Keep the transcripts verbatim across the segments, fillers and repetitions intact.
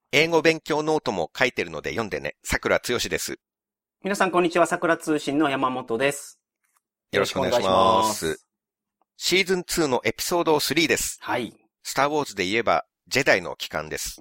英語勉強ノートも書いてるので読んでね。桜つよしです。 皆さんこんにちは。桜通信の山本です。 よろしくお願いします。シーズンツーのエピソードスリーです。 はい。 スターウォーズで言えば、ジェダイの帰還です。 うん、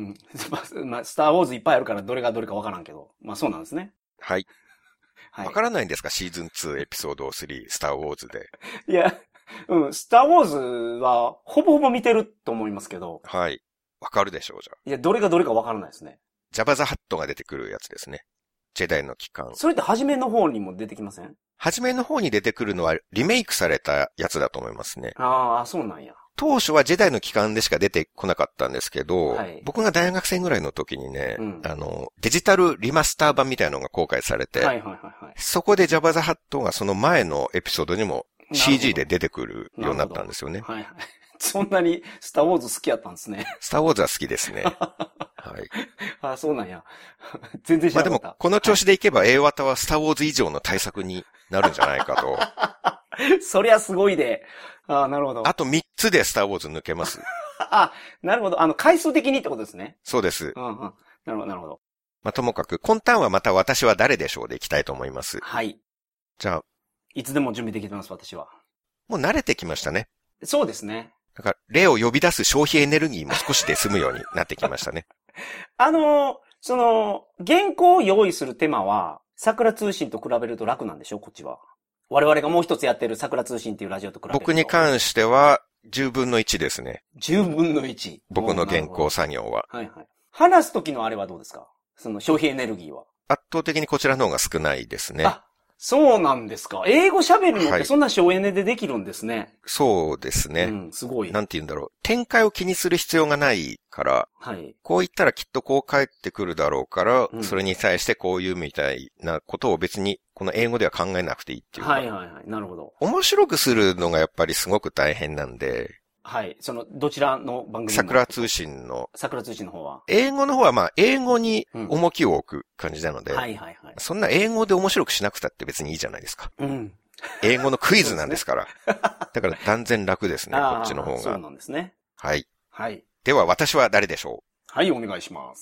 まあ、スターウォーズいっぱいあるからどれがどれかわからんけど。まあそうなんですね。 はい。わ、はい、からないんですかシーズンツーエピソードスリー、スターウォーズで。 いや、うん、スターウォーズはほぼほぼ見てると思いますけど。 はい。わかるでしょう、じゃあ。 いや、どれがどれかわからないですね。 ジャバザハットが出てくるやつですね。ジェダイの帰還。 それって初めの方にも出てきません？ 初めの方に出てくるのはリメイクされたやつだと思いますね。 ああ、そうなんや。 当初はジェダイの帰還でしか出てこなかったんですけど、はい、僕が大学生ぐらいの時にね、うん、あの、デジタルリマスター版みたいなのが公開されて、はいはいはいはい、そこでジャバザハットがその前のエピソードにも シージー で出てくるようになったんですよね。 はいはい。そんなにスターウォーズ好きやったんですね。 スターウォーズは好きですね。はい。 あ、そうなんや。全然知らなかった。 まあでも、この調子でいけば A 型はスターウォーズ以上の対策になるんじゃないかと。 そりゃすごいで。あ、なるほど。 あとみっつでスターウォーズ抜けます。 あ、なるほど。あの、回数的にってことですね。 そうです。 うんうん。なるほど、なるほど。 まあ、ともかく、今ターンはまた私は誰でしょうでいきたいと思います。 はい。 じゃあ。 いつでも準備できてます、私は。 もう慣れてきましたね。 そうですね。 だから、例を呼び出す消費エネルギーも少しで済むようになってきましたね。 あの、その、原稿を用意する手間は、桜通信と比べると楽なんでしょこっちは。我々がもう一つやってる桜通信っていうラジオと比べると。 僕に関しては、じゅうぶんのいちですね。 じゅうぶんのいち。 僕の原稿作業は。 はいはい。話す時のあれはどうですか？その消費エネルギーは。 圧倒的にこちらの方が少ないですね。 あ、そうなんですか。英語喋るのってそんな省エネでできるんですね。はい、 そうですね。 うん、すごい。 なんて言うんだろう。展開を気にする必要がないから、はい、こう言ったらきっとこう返ってくるだろうから、うん、それに対してこういうみたいなことを別にこの英語では考えなくていいっていうか。 はいはいはい。なるほど。 面白くするのがやっぱりすごく大変なんで。 はい。その、どちらの番組桜通信の。 桜通信の方は。 英語の方はまあ、英語に重きを置く感じなので。 うん、はいはいはい。 そんな英語で面白くしなくたって別にいいじゃないですか。 うん。 英語のクイズなんですから。ね、だから断然楽ですね、こっちの方が。 そうなんですね。 はい。 はい。 では私は誰でしょう？はい、お願いします。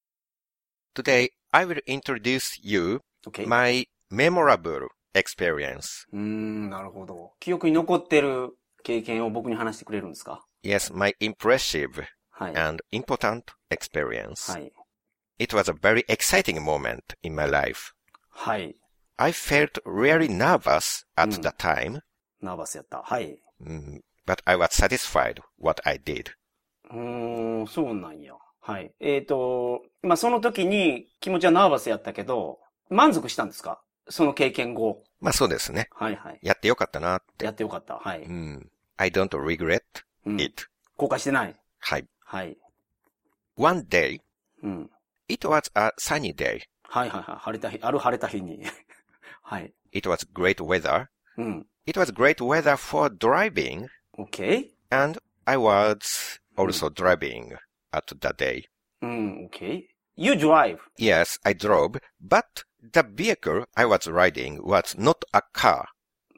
Today, I will introduce you、okay. my memorable experience. うーん、なるほど。記憶に残ってる経験を僕に話してくれるんですか？ Yes, my impressive、はい、and important experience. はい。 It was a very exciting moment in my life. はい。 I felt really nervous at、うん、the time. ナーバスやった。はい。 Mm, but I was satisfied what I did. うーん、そうなんや。はい。えっと、まあ、その時に気持ちはナーバスやったけど、満足したんですか？その経験後。 まあそうですね。 はいはい。 やってよかったなって。 やってよかった。はい。 うん。I don't regret、うん、it. 後悔してない。 はい。 はい。 One day, うん、 it was a sunny day. はいはいはい。晴れた日、ある晴れた日に。はい。 It was great weather. うん。 It was great weather for driving. Okay. And I was also、うん、driving at the day. うん、okay. You drive? Yes, I drove, but the vehicle I was riding was not a car.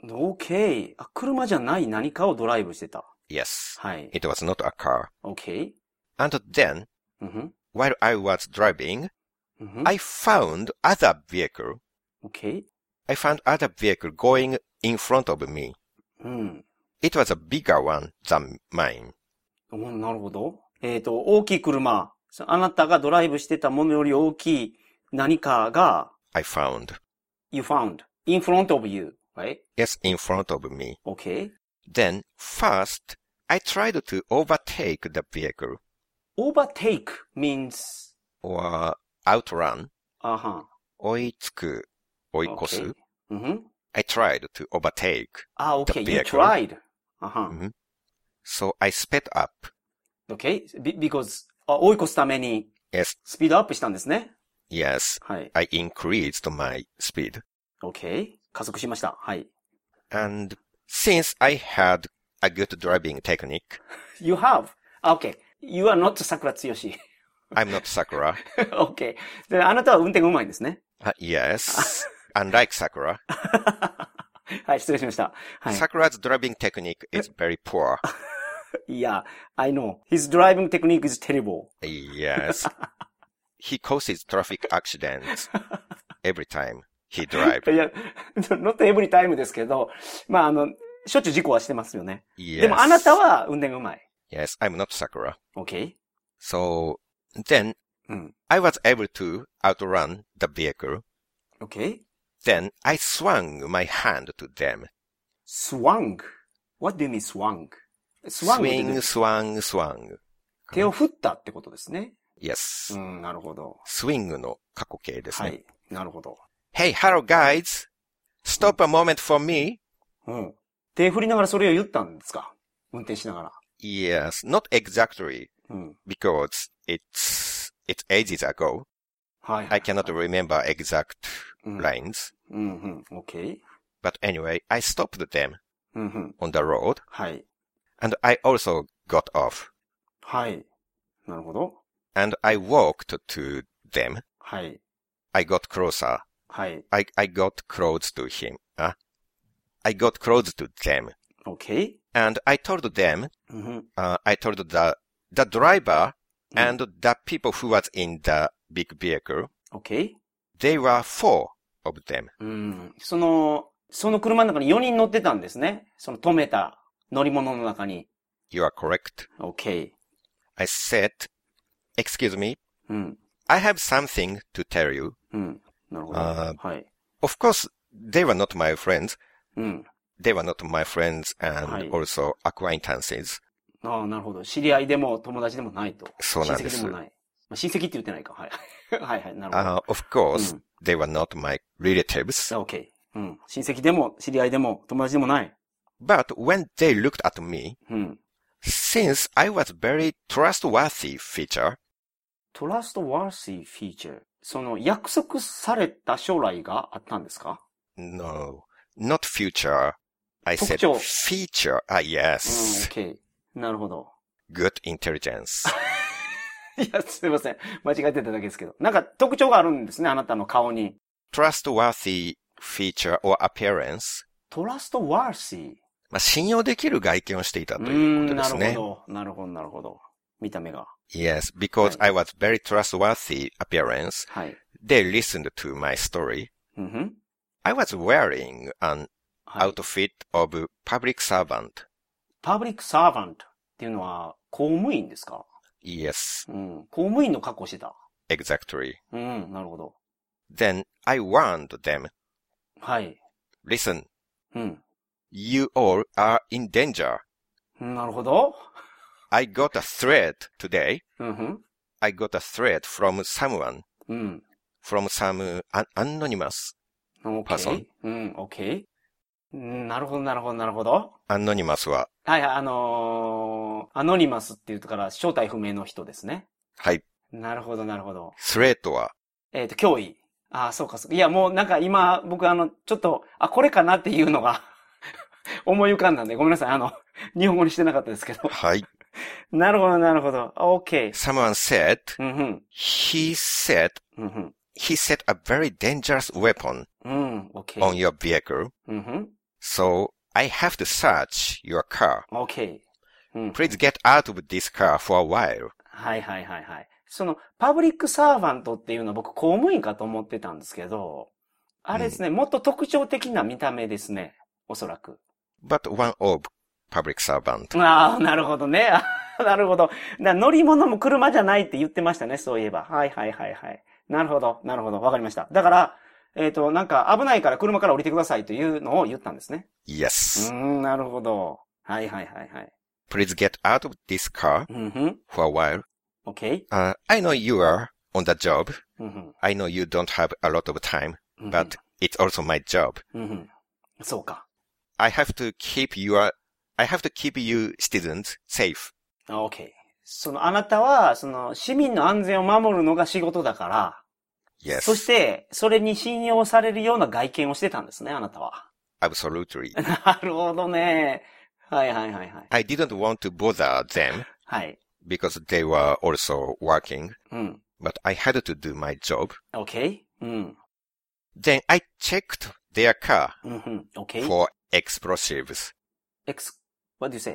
Okay. あ、車じゃない何かをドライブしてた。 Yes. はい。 It was not a car. Okay. And then, うん、 while I was driving, うん、 I found other vehicle. Okay. I found other vehicle going in front of me. うん。 It was a bigger one than mine. なるほど。えっと、大きい車。あなたがドライブしてたものより大きい何かが I found. You found. In front of you, right? Yes, in front of me. Okay. Then, first, I tried to overtake the vehicle. Overtake means? Or outrun. あは。 追いつく、追い越す。 Okay. Mm-hmm. I tried to overtake ah, okay. the vehicle. You tried. あは。 Mm-hmm. So I sped up. Okay. Be- because 追い越すために Yes. スピードアップしたんですね。 Yes. はい。 I increased my speed. Okay. 加速しました。はい。 And since I had a good driving technique. You have? Okay. You are not Sakura Tsuyoshi. I'm not Sakura. Okay. で、あなたは運転がうまいんですね。 Uh, yes. Unlike Sakura. はい、失礼しました。はい。 Sakura's driving technique is very poor. Yeah, I know. His driving technique is terrible. Yes. He causes traffic accidents every time he drives. いや、not every time ですけど、まあ、あの、しょっちゅう事故はしてますよね。 Yes. でもあなたは運転がうまい。 Yes, I'm not Sakura. Okay. So, then, うん、 I was able to outrun the vehicle. Okay. Then I swung my hand to them. Swung? What do you mean swung? Swing, swung, swung. 手を振ったってことですね。 Yes. うん、なるほど。 swing の過去形ですね。 はい。なるほど。 Hey, hello guys! Stop a moment for me! うん。手振りながらそれを言ったんですか？運転しながら。 Yes, not exactly. うん。 Because it's, it's ages ago. はい。 I cannot remember exact うん、 lines. うん、うん。Okay. But anyway, I stopped them うん、うん。 on the road. はい。 And I also got off. はい。なるほど。 And I walked to them. はい。 I got closer. はい。 I, I got close to him. Uh, I got close to them. Okay. And I told them, うん、 uh, I told the, the driver and the people who was in the big vehicle, Okay. they were four of them. うん。その、その車の中によにん乗ってたんですね。その止めた乗り物の中に。 You are correct. Okay. I said, excuse me, うん。 I have something to tell you. うん。なるほど。 あーはい。 Of course, they were not my friends. うん。 They were not my friends はい and also acquaintances. ああ、なるほど。知り合いでも友達でもないと。 そうなんです。 親戚でもない。まあ、親戚って言ってないか。はい。はいはい。なるほど。 Uh, of course, うん they were not my relatives. OK。うん。親戚でも知り合いでも友達でもない。 But when they looked at me, うん。 since I was very trustworthy feature, trustworthy feature。その約束された将来があったんですか？ no, not future. I said 特徴。 feature. Ah, うん、 yes. OK。なるほど。 Good intelligence. いや、すいません。間違えてただけですけど。なんか特徴があるんですね、あなたの顔に。 Trustworthy feature or appearance. trustworthy。 まあ、信用できる外見をしていたとうーいうことん、 ですね。 なるほど。なるほど、なるほど。見た目が。 Yes, because はい I was very trustworthy appearance, はい。 they listened to my story. うんふん。 I was wearing an はい。 outfit of public servant. パブリックサーバントっていうのは公務員ですか？ Yes, うん。公務員の格好してた。 exactly. うん、なるほど。 Then I warned them, はい。 listen, うん。 you all are in danger. なるほど。 I got a threat today. うんふん。 I got a threat from someone, うん。 from some an- anonymous OK。 person. うん、OK。うんなるほど、なるほど、なるほど。 anonymous は、 はいはい、あのー、アノニマスって言うから正体不明の人ですね。 はい。 なるほど、なるほど。 threat は、 えっと、脅威。ああ、そうか、そうか。いや、もうなんか今、僕あの、ちょっと、あ、これかなっていうのが思い浮かんだんで、ごめんなさい。あの、日本語にしてなかったですけど。 はい。 なるほど、なるほど。OK。 Someone said, うんふん。 he said, うんふん。 he set a very dangerous weapon うん、OK。 on your vehicle. うんふん。 So I have to search your car. OK。うん。 Please get out of this car for a while. はいはいはいはい。その、パブリックサーバントっていうのは僕公務員かと思ってたんですけど、あれですね、もっと特徴的な見た目ですね。おそらく。 But one of public servant. ああ、なるほどね。なるほど。だ乗り物も車じゃないって言ってましたね、そういえば。はいはいはいはい。なるほど、なるほど。わかりました。だから、えっと、なんか危ないから車から降りてくださいというのを言ったんですね。 Yes. うーん、なるほど。はいはいはいはい。 Please get out of this car うんふん。 for a while. OK? Uh, I know you are on the job. うんふん。 I know you don't have a lot of time, うんふん but it's also my job. うんふん。そうか。 I have to keep your, I have to keep you citizens safe. OK。その、あなたは、その、市民の安全を守るのが仕事だから、 Yes. そして、それに信用されるような外見をしてたんですね、あなたは。 Absolutely. なるほどね。はいはいはいはい。 I didn't want to bother them はい。 because they were also working, うん。 but I had to do my job. OK? うん。 Then I checked their car うんうん。OK? for explosives. Ex, what do you say?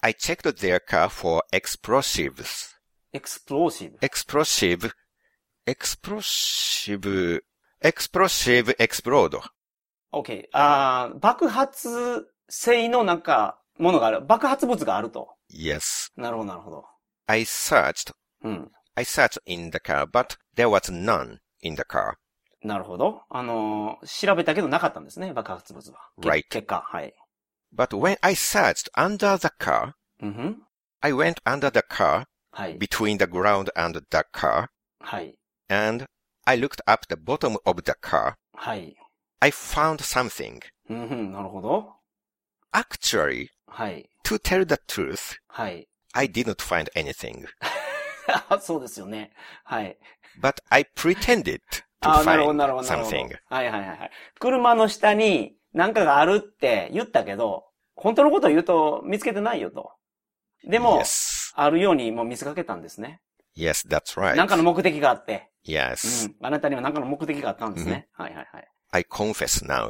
I checked their car for explosives. explosive. explosive, explosive, explosive explode. OK.あー、爆発性のなんか、ものがある。爆発物があると。 Yes. なるほど、なるほど。 I searched. うん。 I searched in the car, but there was none in the car. なるほど。あのー、調べたけどなかったんですね、爆発物は。 Right. 結果、はい。 But when I searched under the car, mm-hmm. I went under the car, はい。 between the ground and the car, はい。 and I looked up the bottom of the car. はい。 I found something. うんうん、なるほど。 Actually, はい。 to tell the truth, はい。 I did not find anything. そうですよね。はい。 But I pretended to あ、なるほど、 find なるほど、なるほど。 something. はいはいはいはい。車の下に何かがあるって言ったけど、本当のことを言うと見つけてないよと。でも、 Yes. あるようにもう見せかけたんですね。 Yes, that's right. 何かの目的があって。 Yes. うん。あなたには何かの目的があったんですね。Mm-hmm. はいはいはい。 I confess now.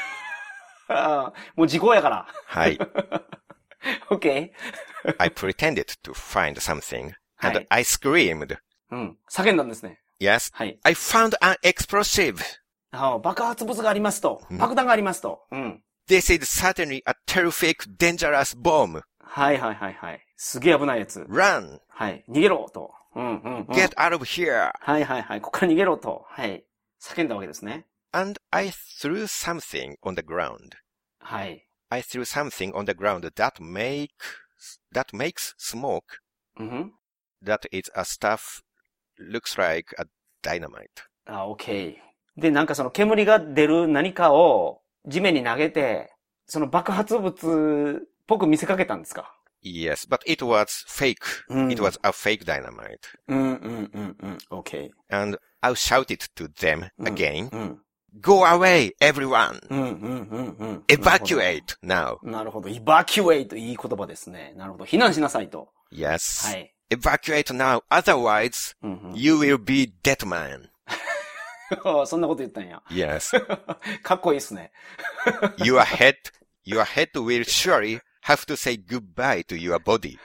もう時効やから。 はい。 OK. I pretended to find something, and I screamed. うん。叫んだんですね。 Yes. はい。 I found an explosive. あ、爆発物がありますと。爆弾がありますと。うん。 This is certainly a terrific, dangerous bomb. はいはいはいはい。すげえ危ないやつ。 Run. はい。逃げろと。うんうんうん。 Get out of here. はいはいはい。ここから逃げろと。はい。叫んだわけですね。 And I threw something on the ground. はい。 I threw something on the ground that make, that makes smoke. Mm-hmm. That is a stuff, looks like a dynamite. あ、OK。で、なんかその煙が出る何かを地面に投げて、その爆発物っぽく見せかけたんですか？ Yes, but it was fake. Mm. It was a fake dynamite. うんうんうんうん。OK. And I shouted to them again. うんうん、 Go away, everyone! うんうんうんうん。 Evacuate now! なるほど。evacuate いい言葉ですね。なるほど。避難しなさいと。 Yes. はい。 Evacuate now, otherwise, うんうん、 you will be dead man. そんなこと言ったんや。 Yes. かっこいいっすね。 your head, your head will surely have to say goodbye to your body.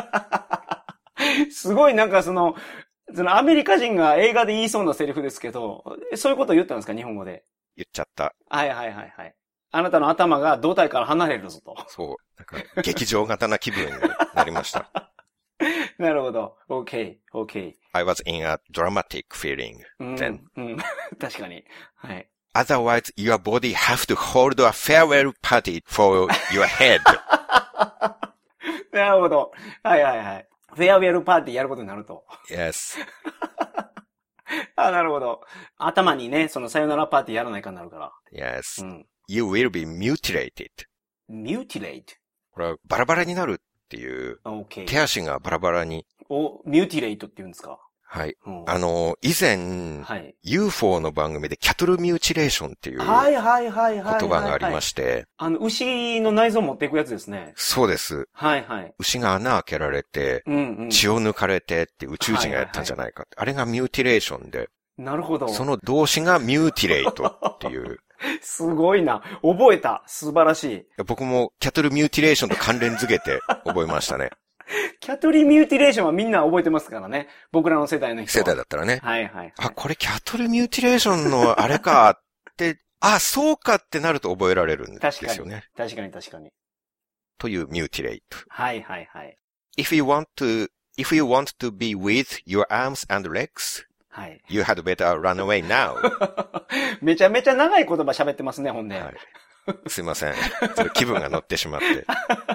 すごいなんかその、そのアメリカ人が映画で言いそうなセリフですけど、そういうことを言ったんですか、日本語で。 言っちゃった。 はいはいはいはい。あなたの頭が胴体から離れるぞと。 そう。なんか劇場型な気分になりました。 なるほど。OK, OK. I was in a dramatic feeling then. うん、うん、確かに。はい。 Otherwise, your body have to hold a farewell party for your head. なるほど。はいはいはい。フェアウェルパーティーやることになると。 Yes. あ、なるほど。頭にね、そのさよならパーティーやらないかになるから。 Yes.、 うん、 You will be mutilated. mutilate? これはバラバラになるっていう。 Okay. 手足がバラバラに。 お、mutilate って言うんですか？ はい。うん、あの、以前、はい、ユーフォー の番組でキャトルミューチレーションっていう言葉がありまして、 あの、牛の内臓を持っていくやつですね。 そうです。 はいはい。 牛が穴開けられて、うんうん、血を抜かれてって宇宙人がやったんじゃないかって。はいはいはい、あれがミューティレーションで。 なるほど。 その動詞がミューティレイトっていう。 すごいな。覚えた。素晴らしい。 僕もキャトルミューティレーションと関連づけて覚えましたね。 キャトルミューティレーションはみんな覚えてますからね。僕らの世代の人は。 世代だったらね。 はいはい、はい。 あ、これキャトルミューティレーションのあれかって、あ、そうかってなると覚えられるんですよね。 確かに、確かに確かに。 というミューティレイト。 はいはいはい。 If you want to, if you want to be with your arms and legs, はい。You had better run away now. めちゃめちゃ長い言葉喋ってますね、ほんで。はい。 すいません。ちょっと気分が乗ってしまって。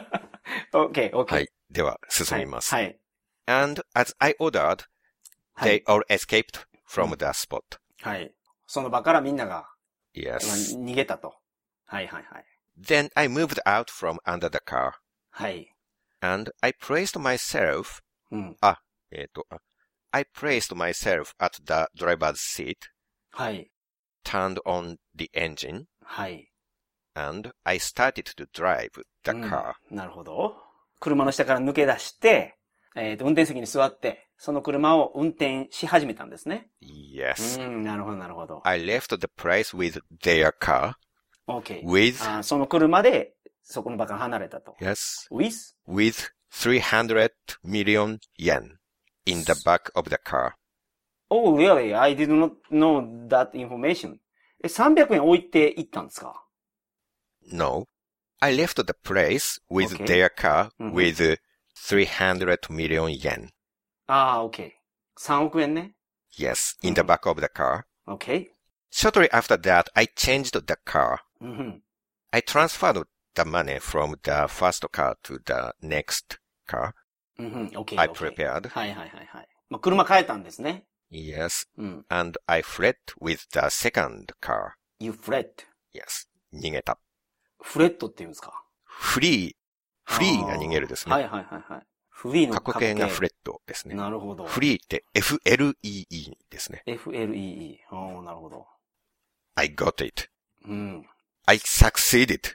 OK, OK. はい。では、進みます。 はい。 And as I ordered, they all escaped from the spot. はい。その場からみんなが、 Yes. 逃げたと。はいはいはい。 Then I moved out from under the car. はい。 And I placed myself, うん。 あ、えっと、I placed myself at the driver's seat. はい。 Turned on the engine. はい。 And I started to drive the car. うん、なるほど。車の下から抜け出して、えっと、運転席に座って、その車を運転し始めたんですね。 Yes. うん、なるほど、なるほど。 I left the place with their car. Okay. With. あ、その車で、そこの場から離れたと。 Yes. With? With three hundred million yen in the back of the car. Oh, really? I did not know that information. え、さんびゃくえん置いて行ったんですか？ No. I left the place with Okay. their car Mhm. with three hundred million yen. ああ、OK。さんおくえんね。 Yes, in the Mhm. back of the car. OK。 Shortly after that, I changed the car. うんふん。 I transferred the money from the first car to the next car うんふん。OK。 I OK prepared. はいはいはいはい。まあ、車変えたんですね。 Yes. うん。 And I fled with the second car. You fled. Yes. 逃げた。 フレットって言うんですか？ フリー。フリーが逃げるですね。 はいはいはいはい。フリーの過去形がフレットですね。 なるほど。 フリーって エフエルイーイー ですね。 エフエルイーイー。ああ、なるほど。 I got it. うん。 I succeeded.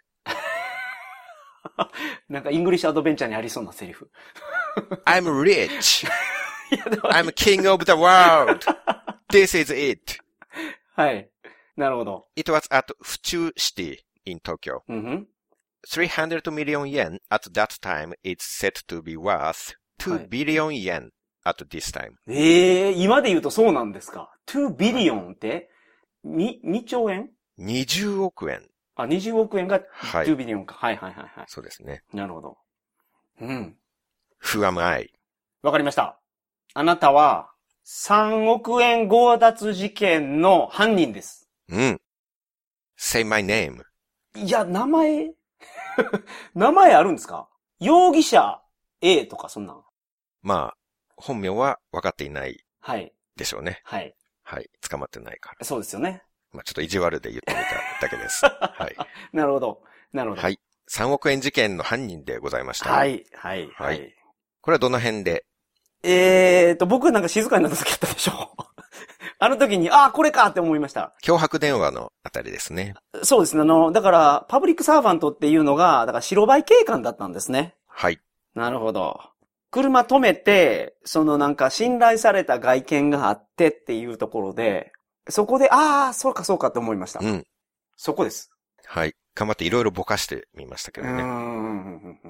なんかイングリッシュアドベンチャーにありそうなセリフ。 I'm rich. I'm king of the world. This is it. はい。なるほど。 It was at Fuchu City in Tokyo. うんふん。 three hundred million yen at that time is set to be worth two billion yen at this time. ええー、今で言うとそうなんですか。two billion って、に、にちょうえん ? にじゅうおくえん。 あ、にじゅうおくえんがはい。 two billion か。はいはいはいはい。 そうですね。 なるほど。うん。 Who am I? わかりました。あなたは、さんおくえん強奪事件の犯人です。 うん。Say my name. いや、名前名前あるんですか？容疑者 A とかそんなん。 まあ、本名は分かっていないはい。 でしょうね。 はい。 はい。捕まってないから。 そうですよね。 まあちょっと意地悪で言ってみただけです。はい。 なるほど。なるほど。 はい。さんおくえん事件の犯人でございました。 はい。はい。 はい。これはどの辺で？ えーと、僕なんか静かになった時あったでしょあの時に、ああ、これかって思いました。 脅迫電話のあたりですね。 そうですね。あの、だから、パブリックサーバントっていうのが、だから白バイ警官だったんですね。 はい。 なるほど。車止めて、そのなんか信頼された外見があってっていうところで、そこで、ああ、そうかそうかって思いました。うん。そこです。 はい。頑張っていろいろぼかしてみましたけどね。 うん。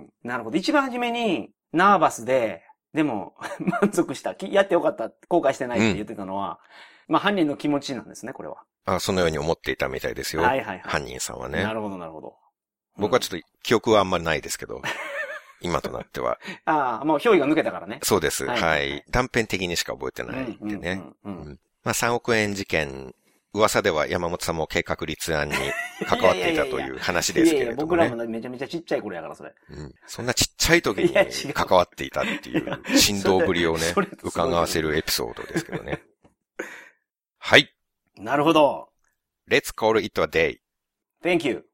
なるほど。一番初めに、ナーバスで、でも、満足した。やってよかった。後悔してないって言ってたのは、うん、まあ犯人の気持ちなんですね、これは。 あ、そのように思っていたみたいですよ。はいはいはい。犯人さんはね。 なるほど、なるほど。 うん、僕はちょっと記憶はあんまりないですけど、今となっては。 ああ、もう憑依が抜けたからね。 そうです。はい。はい、断片的にしか覚えてないんでね。まあさんおくえん事件、噂では山本さんも計画立案に関わっていたという話ですけれども、ね。いやいや僕らもめちゃめちゃちっちゃい頃やからそれ。 うん。そんなちっちゃい時に関わっていたっていう振動ぶりをね、伺わせるエピソードですけどね。はい。 なるほど。 Let's call it a day. Thank you.